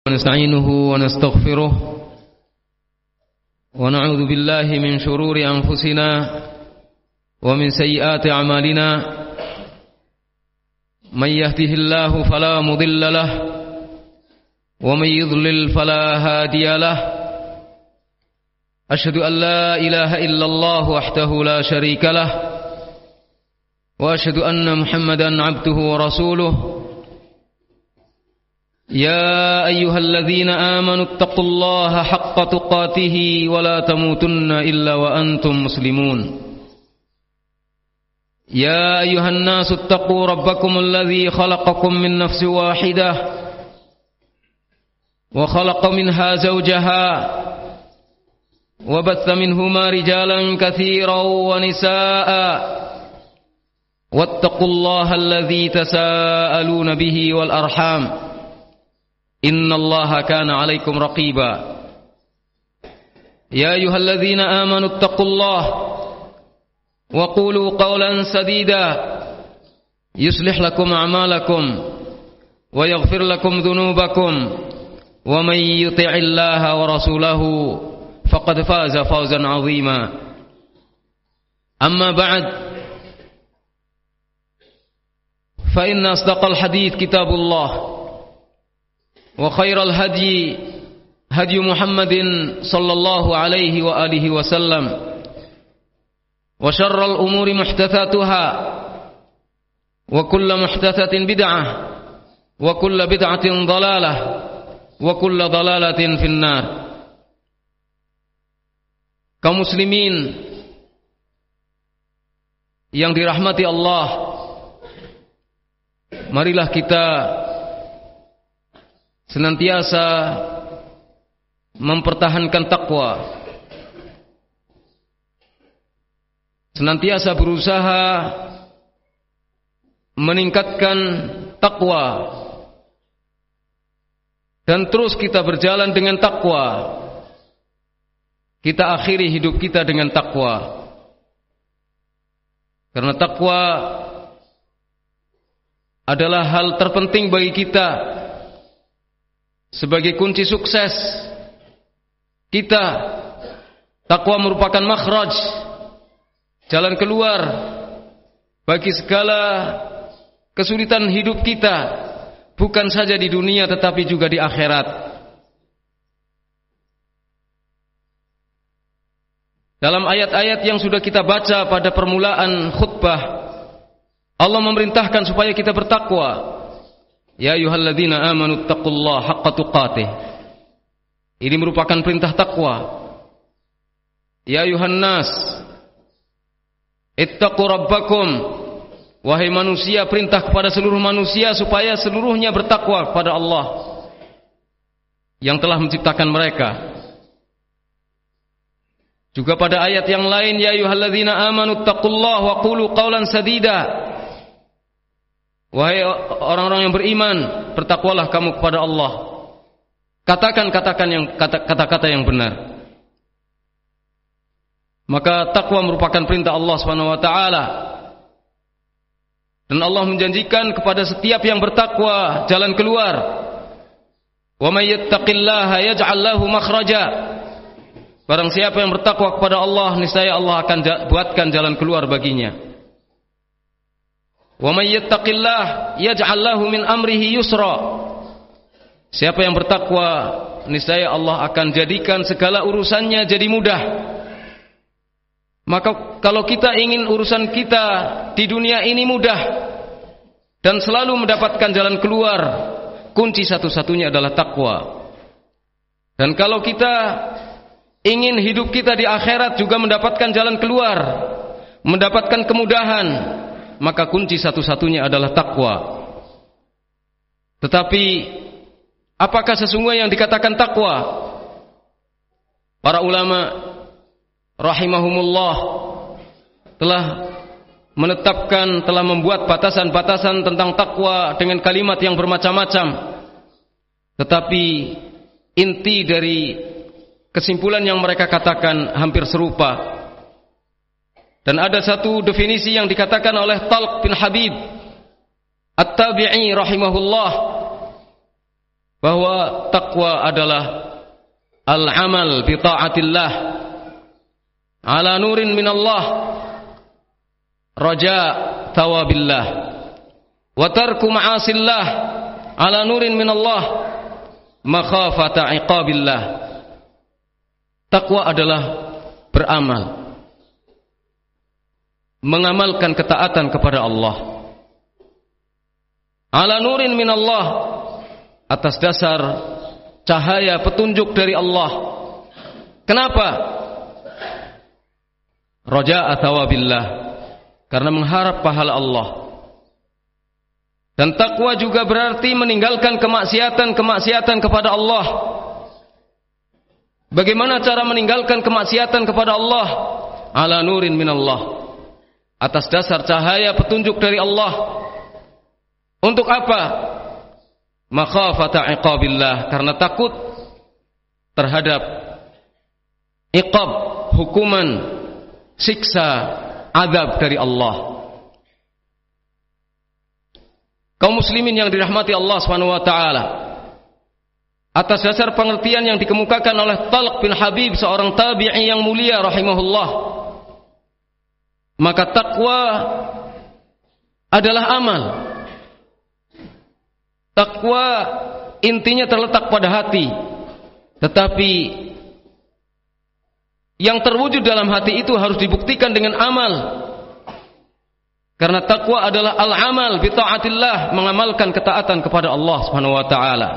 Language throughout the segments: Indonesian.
ونستعينه ونستغفره ونعوذ بالله من شرور أنفسنا ومن سيئات أعمالنا من يهده الله فلا مضل له ومن يضلل فلا هادي له أشهد أن لا إله إلا الله وحده لا شريك له وأشهد أن محمدا عبده ورسوله يا أيها الذين آمنوا اتقوا الله حق تقاته ولا تموتن إلا وأنتم مسلمون يا أيها الناس اتقوا ربكم الذي خلقكم من نفس واحدة وخلق منها زوجها وبث منهما رجالا كثيرا ونساء واتقوا الله الذي تساءلون به والأرحام إن الله كان عليكم رقيبا يا أيها الذين آمنوا اتقوا الله وقولوا قولا سديدا يصلح لكم أعمالكم ويغفر لكم ذنوبكم ومن يطع الله ورسوله فقد فاز فوزا عظيما أما بعد فإن أصدق الحديث كتاب الله وخير الهدي هدي محمد صلى الله عليه وآله وسلم وشر الأمور محدثاتها وكل محدثة بدعة وكل بدعة ضلالة وكل ضلالة في النار. Kaum muslimin yang dirahmati Allah, marilah kita senantiasa mempertahankan takwa, senantiasa berusaha meningkatkan takwa, dan terus kita berjalan dengan takwa. Kita akhiri hidup kita dengan takwa, karena takwa adalah hal terpenting bagi kita sebagai kunci sukses kita. Takwa merupakan makhraj, jalan keluar bagi segala kesulitan hidup kita, bukan saja di dunia tetapi juga di akhirat. Dalam ayat-ayat yang sudah kita baca pada permulaan khutbah, Allah memerintahkan supaya kita bertakwa. Ya ayyuhalladzina amanu taqullaha haqqa tuqatih. Ini merupakan perintah takwa. Ya ayyuhan nas ittaqu rabbakum. Wahai manusia, perintah kepada seluruh manusia supaya seluruhnya bertakwa kepada Allah yang telah menciptakan mereka. Juga pada ayat yang lain, ya ayyuhalladzina amanu taqullaha wa qulu qawlan sadida. Wahai orang-orang yang beriman, bertakwalah kamu kepada Allah. Katakan kata-kata yang benar. Maka takwa merupakan perintah Allah Subhanahu wa taala. Dan Allah menjanjikan kepada setiap yang bertakwa jalan keluar. Wa may yattaqillaha yaj'al lahu makhraja. Barang siapa yang bertakwa kepada Allah, niscaya Allah akan buatkan jalan keluar baginya. Wa may yattaqillah yaj'al lahu min amrihi yusra. Siapa yang bertakwa, niscaya Allah akan jadikan segala urusannya jadi mudah. Maka kalau kita ingin urusan kita di dunia ini mudah dan selalu mendapatkan jalan keluar, kunci satu-satunya adalah takwa. Dan kalau kita ingin hidup kita di akhirat juga mendapatkan jalan keluar, mendapatkan kemudahan, maka kunci satu-satunya adalah takwa. Tetapi apakah sesungguhnya yang dikatakan takwa? Para ulama rahimahumullah telah menetapkan, telah membuat batasan-batasan tentang takwa dengan kalimat yang bermacam-macam. Tetapi inti dari kesimpulan yang mereka katakan hampir serupa. Dan ada satu definisi yang dikatakan oleh Talq bin Habib At-Tabi'i rahimahullah. bahwa takwa adalah al-amal bi ta'atillah ala nurin minallah raja thawabillah wa tarku ma'asillah ala nurin minallah makhafata iqabillah. Takwa adalah beramal, mengamalkan ketaatan kepada Allah ala nurin minallah, atas dasar cahaya petunjuk dari Allah. Kenapa? Raja'a thawabillah, karena mengharap pahala Allah. Dan takwa juga berarti meninggalkan kemaksiatan kepada Allah. Bagaimana cara meninggalkan kemaksiatan kepada Allah? Ala nurin minallah, atas dasar cahaya petunjuk dari Allah. Untuk apa? Makhafata iqabillah, karena takut terhadap iqab, hukuman, siksa, azab dari Allah. Kaum muslimin yang dirahmati Allah Subhanahu wa taala, atas dasar pengertian yang dikemukakan oleh Talq bin Habib, seorang tabi'i yang mulia rahimahullah, maka takwa adalah amal. Takwa intinya terletak pada hati, tetapi yang terwujud dalam hati itu harus dibuktikan dengan amal. Karena takwa adalah al-amal bi ta'atillah, mengamalkan ketaatan kepada Allah Subhanahu wa taala.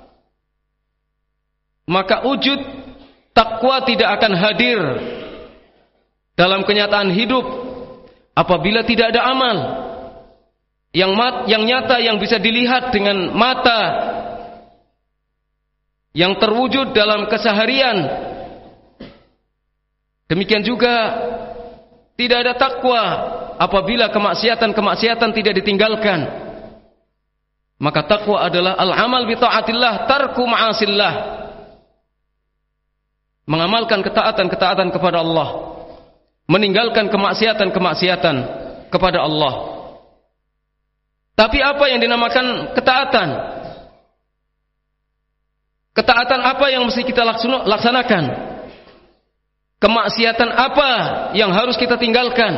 Maka wujud takwa tidak akan hadir dalam kenyataan hidup apabila tidak ada amal yang nyata, yang bisa dilihat dengan mata, yang terwujud dalam keseharian. Demikian juga tidak ada takwa apabila kemaksiatan tidak ditinggalkan. Maka takwa adalah al-amal bi ta'atillah, tarku ma'asillah, mengamalkan ketaatan kepada Allah, meninggalkan kemaksiatan kepada Allah. Tapi apa yang dinamakan ketaatan? Ketaatan apa yang mesti kita laksanakan? Kemaksiatan apa yang harus kita tinggalkan?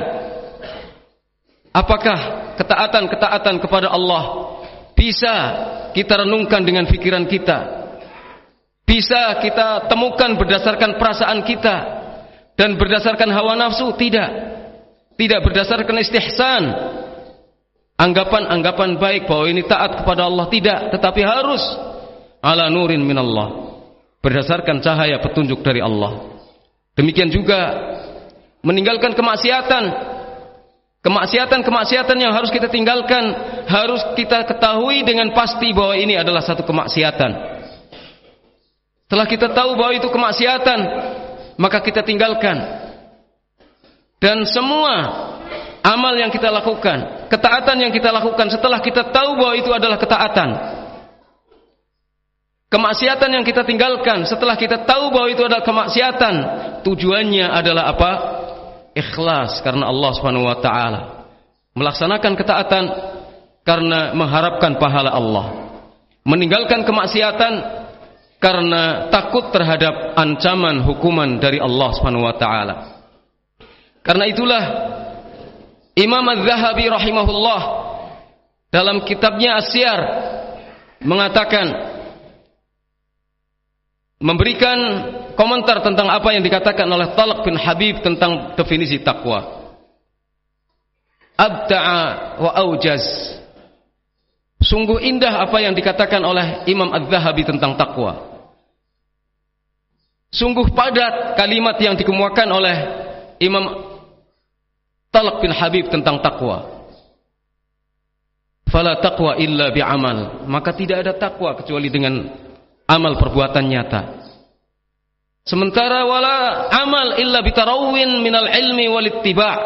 Apakah ketaatan kepada Allah bisa kita renungkan dengan pikiran kita? Bisa kita temukan berdasarkan perasaan kita dan berdasarkan hawa nafsu? Tidak. Tidak berdasarkan istihsan, anggapan baik bahwa ini taat kepada Allah, tidak, tetapi harus ala nurin minallah, berdasarkan cahaya petunjuk dari Allah. Demikian juga meninggalkan kemaksiatan yang harus kita tinggalkan, harus kita ketahui dengan pasti bahwa ini adalah satu kemaksiatan. Setelah kita tahu bahwa itu kemaksiatan, maka kita tinggalkan. Dan semua amal yang kita lakukan, ketaatan yang kita lakukan, setelah kita tahu bahwa itu adalah ketaatan, kemaksiatan yang kita tinggalkan setelah kita tahu bahwa itu adalah kemaksiatan, tujuannya adalah apa? Ikhlas karena Allah Subhanahu wa taala. Melaksanakan ketaatan karena mengharapkan pahala Allah. Meninggalkan kemaksiatan karena takut terhadap ancaman hukuman dari Allah Subhanahu wa taala. Karena itulah Imam Az-Zahabi rahimahullah dalam kitabnya As-Siyar mengatakan, memberikan komentar tentang apa yang dikatakan oleh Talq bin Habib tentang definisi takwa. Abda'a wa aujaz. Sungguh indah apa yang dikatakan oleh Imam Az-Zahabi tentang takwa. Sungguh padat kalimat yang dikemukakan oleh Imam Talq bin Habib tentang takwa. Fala taqwa illa bi'amal. Maka tidak ada takwa kecuali dengan amal perbuatan nyata. Sementara wala amal illa bitarawwin minal ilmi wal ittiba'.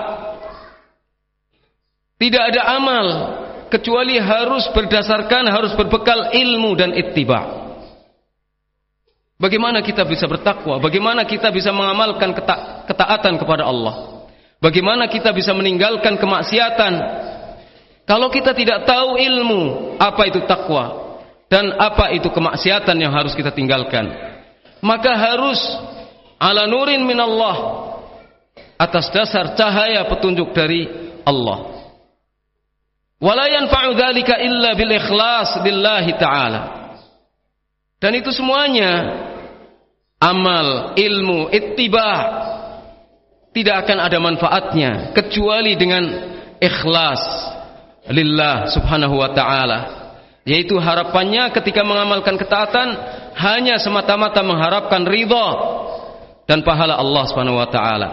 Tidak ada amal kecuali harus berbekal ilmu dan ittiba'. Bagaimana kita bisa bertakwa? Bagaimana kita bisa mengamalkan ketaatan kepada Allah? Bagaimana kita bisa meninggalkan kemaksiatan kalau kita tidak tahu ilmu apa itu takwa? dan apa itu kemaksiatan yang harus kita tinggalkan. Maka harus ala nurin minallah, atas dasar cahaya petunjuk dari Allah. Wala yanfa'u dzalika illa bil ikhlas lillahi ta'ala. Dan itu semuanya amal, ilmu, ittiba tidak akan ada manfaatnya kecuali dengan ikhlas lillah subhanahu wa ta'ala, yaitu harapannya ketika mengamalkan ketaatan hanya semata-mata mengharapkan ridha dan pahala Allah subhanahu wa ta'ala.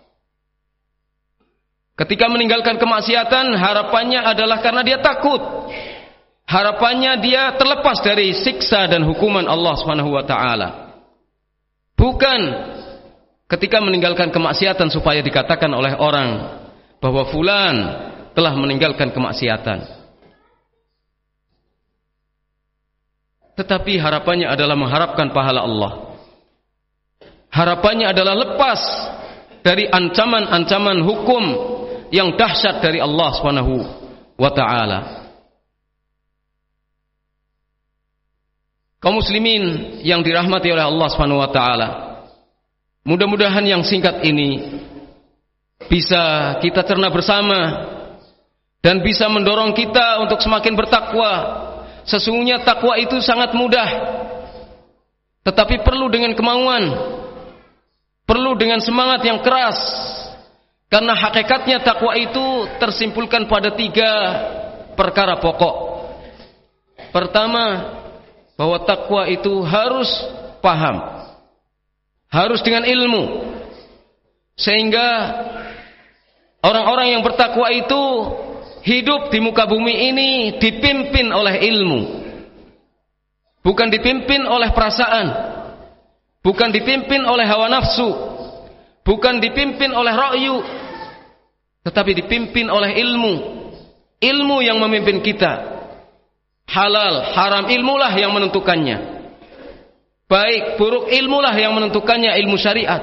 Ketika meninggalkan kemaksiatan, harapannya adalah karena dia takut, harapannya dia terlepas dari siksa dan hukuman Allah subhanahu wa ta'ala. Bukan ketika meninggalkan kemaksiatan supaya dikatakan oleh orang bahwa fulan telah meninggalkan kemaksiatan. Tetapi harapannya adalah mengharapkan pahala Allah. Harapannya adalah lepas dari ancaman-ancaman hukum yang dahsyat dari Allah Subhanahu wa taala. Kaum muslimin yang dirahmati oleh Allah Subhanahu wa taala, mudah-mudahan yang singkat ini bisa kita cerna bersama dan bisa mendorong kita untuk semakin bertakwa. Sesungguhnya takwa itu sangat mudah, tetapi perlu dengan kemauan, perlu dengan semangat yang keras. Karena hakikatnya takwa itu tersimpulkan pada 3 perkara pokok. Pertama, bahwa takwa itu harus paham, harus dengan ilmu, sehingga orang-orang yang bertakwa itu hidup di muka bumi ini dipimpin oleh ilmu, bukan dipimpin oleh perasaan, bukan dipimpin oleh hawa nafsu, bukan dipimpin oleh ra'yu, tetapi dipimpin oleh ilmu. Ilmu yang memimpin kita. Halal, haram, ilmulah yang menentukannya. Baik, buruk, ilmulah yang menentukannya, ilmu syariat.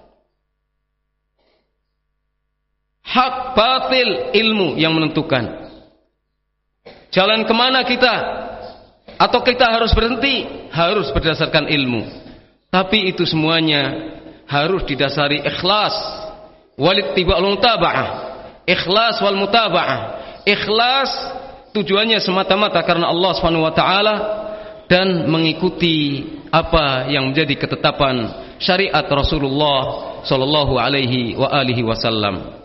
Hak, batil, ilmu yang menentukan. Jalan kemana kita? Atau kita harus berhenti? Harus berdasarkan ilmu. Tapi itu semuanya harus didasari ikhlas wal ittiba' wal mutaba'ah. Ikhlas wal mutaba'ah. Ikhlas tujuannya semata-mata karena Allah Subhanahu wa taala dan mengikuti apa yang menjadi ketetapan syariat Rasulullah sallallahu alaihi wa alihi wasallam.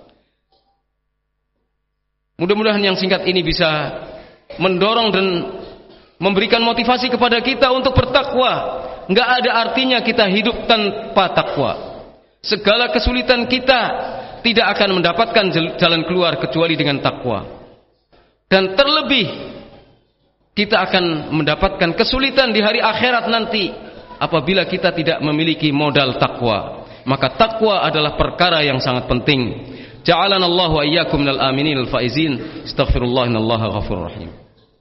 Mudah-mudahan yang singkat ini bisa mendorong dan memberikan motivasi kepada kita untuk bertakwa. Enggak ada artinya kita hidup tanpa takwa. Segala kesulitan kita tidak akan mendapatkan jalan keluar kecuali dengan takwa. Dan terlebih kita akan mendapatkan kesulitan di hari akhirat nanti apabila kita tidak memiliki modal takwa. Maka takwa adalah perkara yang sangat penting. Ja'alana Allahu wa iyyakum minal aminin al faizin. Astaghfirullah innallaha ghafurur rahim.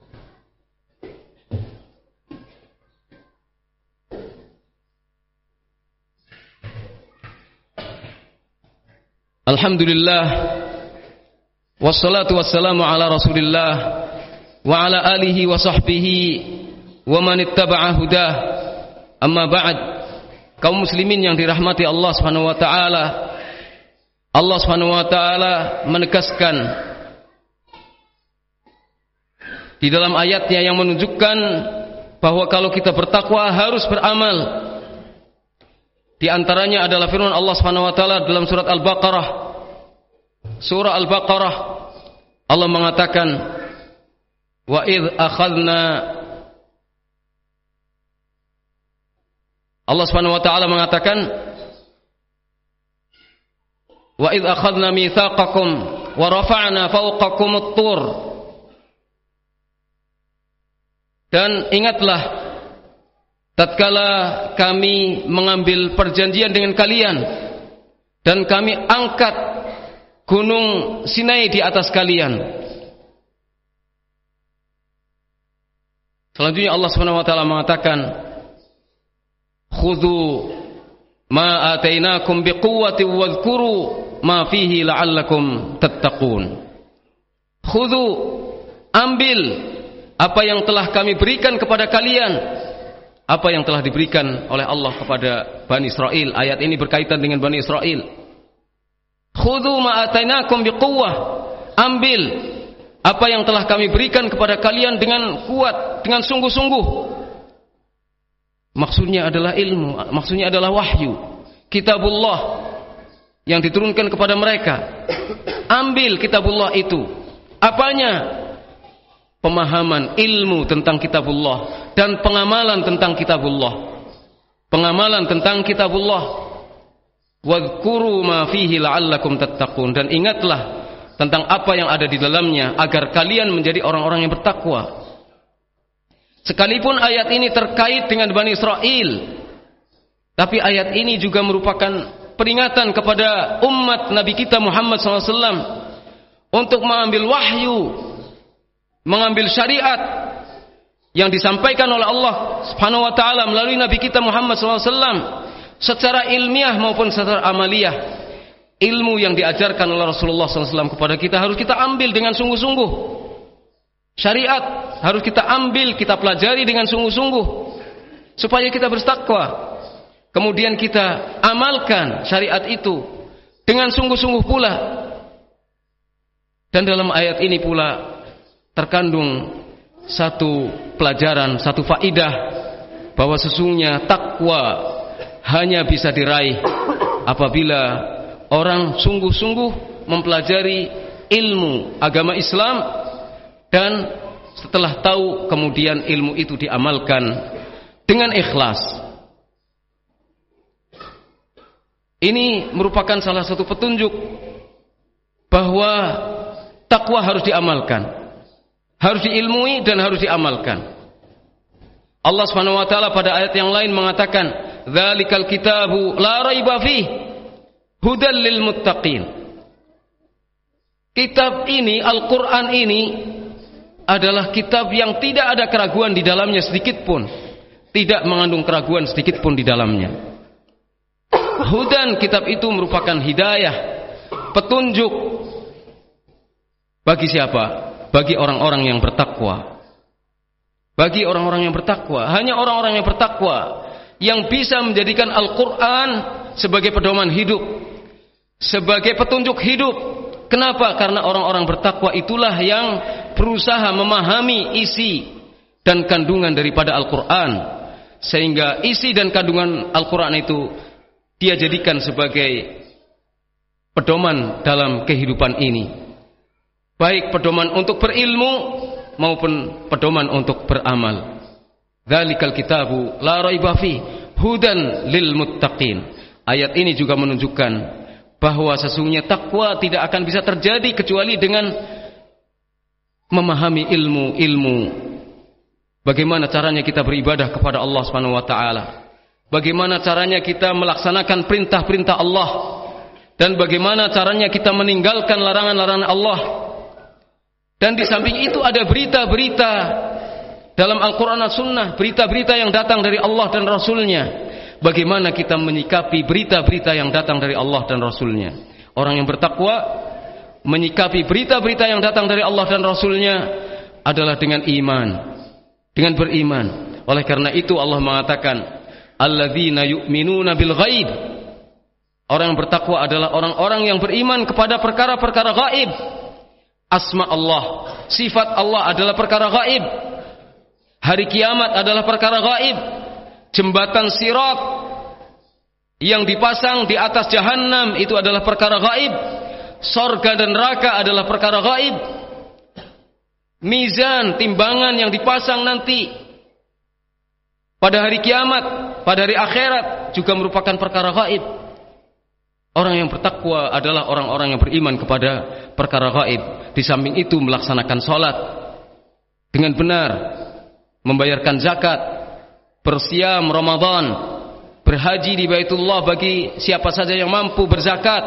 Alhamdulillah, wassalatu wassalamu ala rasulillah wa ala alihi wa sahbihi wa man ittaba'a hudah. Amma ba'd. Kaum muslimin yang dirahmati Allah Subhanahu wa taala, Allah Subhanahu wa taala menegaskan di dalam ayatnya yang menunjukkan bahwa kalau kita bertakwa harus beramal. Di antaranya adalah firman Allah Subhanahu wa taala dalam surat Al-Baqarah. Surah Al-Baqarah Allah mengatakan wa idz akhadna, Allah Subhanahu wa taala mengatakan wa idz akhadna mitsaqakum wa rafa'na fawqakum at-tur. Dan ingatlah tatkala kami mengambil perjanjian dengan kalian dan kami angkat gunung Sinai di atas kalian. Selanjutnya Allah Subhanahu wa taala mengatakan khudhu ma atainakum biquwwati wadhkuru ma fihi la'allakum tattaqun. Khudhu, ambil apa yang telah kami berikan kepada kalian, apa yang telah diberikan oleh Allah kepada Bani Israel. Ayat ini berkaitan dengan Bani Israel. Khudhu ma atainakum biquwwah, ambil apa yang telah kami berikan kepada kalian dengan kuat, dengan sungguh-sungguh. Maksudnya adalah ilmu, maksudnya adalah wahyu, kitabullah yang diturunkan kepada mereka. Ambil kitabullah itu. Apanya? Pemahaman ilmu tentang kitabullah dan pengamalan tentang kitabullah. Pengamalan tentang kitabullah. Wadhkuru ma fihi la'allakum tattaqun, dan ingatlah tentang apa yang ada di dalamnya agar kalian menjadi orang-orang yang bertakwa. Sekalipun ayat ini terkait dengan Bani Israel, tapi ayat ini juga merupakan peringatan kepada umat Nabi kita Muhammad SAW untuk mengambil wahyu, mengambil syariat yang disampaikan oleh Allah Subhanahu wa taala melalui Nabi kita Muhammad SAW secara ilmiah maupun secara amaliyah. Ilmu yang diajarkan oleh Rasulullah SAW kepada kita harus kita ambil dengan sungguh-sungguh. Syariat harus kita ambil, kita pelajari dengan sungguh-sungguh supaya kita bertakwa. Kemudian kita amalkan syariat itu dengan sungguh-sungguh pula. Dan dalam ayat ini pula terkandung satu pelajaran, satu faidah, bahwa sesungguhnya takwa hanya bisa diraih apabila orang sungguh-sungguh mempelajari ilmu agama Islam, dan setelah tahu kemudian ilmu itu diamalkan dengan ikhlas. Ini merupakan salah satu petunjuk bahwa takwa harus diamalkan, harus diilmui dan harus diamalkan. Allah Subhanahu wa taala pada ayat yang lain mengatakan, "Dzalikal kitabu la raiba fihi hudal lil muttaqin." Kitab ini, Al-Qur'an ini adalah kitab yang tidak ada keraguan di dalamnya sedikit pun, tidak mengandung keraguan sedikit pun di dalamnya. Hudan, kitab itu merupakan hidayah, petunjuk bagi siapa? Bagi orang-orang yang bertakwa. Bagi orang-orang yang bertakwa. Hanya orang-orang yang bertakwa yang bisa menjadikan Al-Quran sebagai pedoman hidup, sebagai petunjuk hidup. Kenapa? Karena orang-orang bertakwa itulah yang berusaha memahami isi dan kandungan daripada Al-Quran, sehingga isi dan kandungan Al-Quran itu dia jadikan sebagai pedoman dalam kehidupan ini, baik pedoman untuk berilmu maupun pedoman untuk beramal. Dzalikal kitabu la raiba fihi hudan lil muttaqin. Ayat ini juga menunjukkan bahwa sesungguhnya takwa tidak akan bisa terjadi kecuali dengan memahami ilmu-ilmu. Bagaimana caranya kita beribadah kepada Allah Subhanahu wa taala? Bagaimana caranya kita melaksanakan perintah-perintah Allah, dan bagaimana caranya kita meninggalkan larangan-larangan Allah. Dan di samping itu ada berita-berita dalam Al-Quran dan Sunnah, berita-berita yang datang dari Allah dan Rasulnya. Bagaimana kita menyikapi berita-berita yang datang dari Allah dan Rasulnya? Orang yang bertakwa menyikapi berita-berita yang datang dari Allah dan Rasulnya adalah dengan iman, dengan beriman. Oleh karena itu Allah mengatakan, alladzina yu'minuna bil ghaib. Orang yang bertakwa adalah orang-orang yang beriman kepada perkara-perkara gaib. Asma Allah, sifat Allah adalah perkara gaib. Hari kiamat adalah perkara gaib. Jembatan sirat yang dipasang di atas jahanam itu adalah perkara gaib. Sorga dan neraka adalah perkara gaib. Mizan, timbangan yang dipasang nanti pada hari kiamat, pada hari akhirat juga merupakan perkara gaib. Orang yang bertakwa adalah orang-orang yang beriman kepada perkara gaib. Di samping itu melaksanakan sholat dengan benar, membayarkan zakat, bersiam Ramadan, berhaji di Baitullah bagi siapa saja yang mampu berzakat.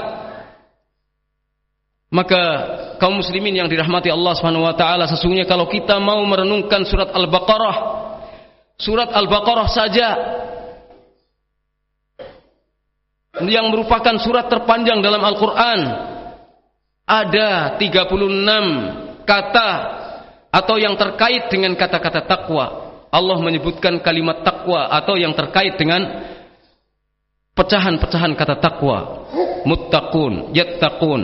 Maka kaum muslimin yang dirahmati Allah Subhanahu wa taala, sesungguhnya kalau kita mau merenungkan surat Al-Baqarah, surat Al-Baqarah saja yang merupakan surat terpanjang dalam Al-Quran, ada 36 kata atau yang terkait dengan kata-kata takwa. Allah menyebutkan kalimat takwa atau yang terkait dengan pecahan-pecahan kata takwa, muttaqun, yattaqun,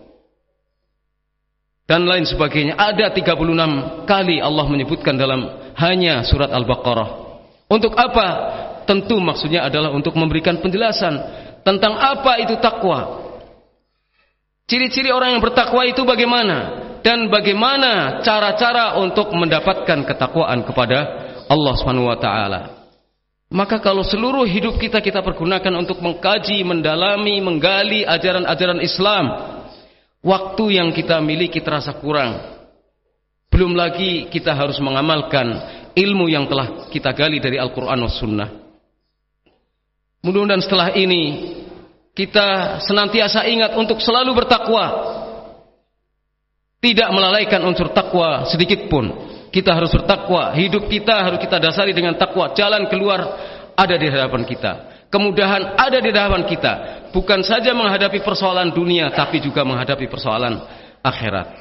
dan lain sebagainya. Ada 36 kali Allah menyebutkan dalam hanya surat Al-Baqarah. Untuk apa? Tentu maksudnya adalah untuk memberikan penjelasan tentang apa itu takwa. Ciri-ciri orang yang bertakwa itu bagaimana? Dan bagaimana cara-cara untuk mendapatkan ketakwaan kepada Allah Subhanahu wa taala. Maka kalau seluruh hidup kita pergunakan untuk mengkaji, mendalami, menggali ajaran-ajaran Islam, waktu yang kita miliki terasa kurang. Belum lagi kita harus mengamalkan ilmu yang telah kita gali dari Al-Quran was Sunnah. Mudah-mudahan setelah ini kita senantiasa ingat untuk selalu bertakwa, tidak melalaikan unsur takwa sedikit pun. Kita harus bertakwa, hidup kita harus kita dasari dengan takwa. Jalan keluar ada di hadapan kita, kemudahan ada di hadapan kita, bukan saja menghadapi persoalan dunia tapi juga menghadapi persoalan akhirat.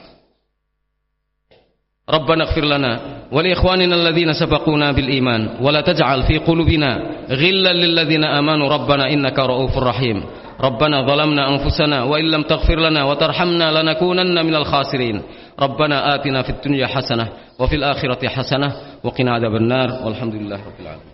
Rabbana ighfir lana wa li ikhwanina alladhina sabaquna bil iman wa la taj'al fi qulubina ghillan lil ladzina amanu rabbana innaka ra'ufur rahim. Rabbana zalamna anfusana wa illam taghfir lana wa tarhamna lanakunanna minal khasirin. Rabbana atina fid dunya hasanah wa fil akhirati hasanah wa qina adzabannar. Walhamdulillahirabbil alamin.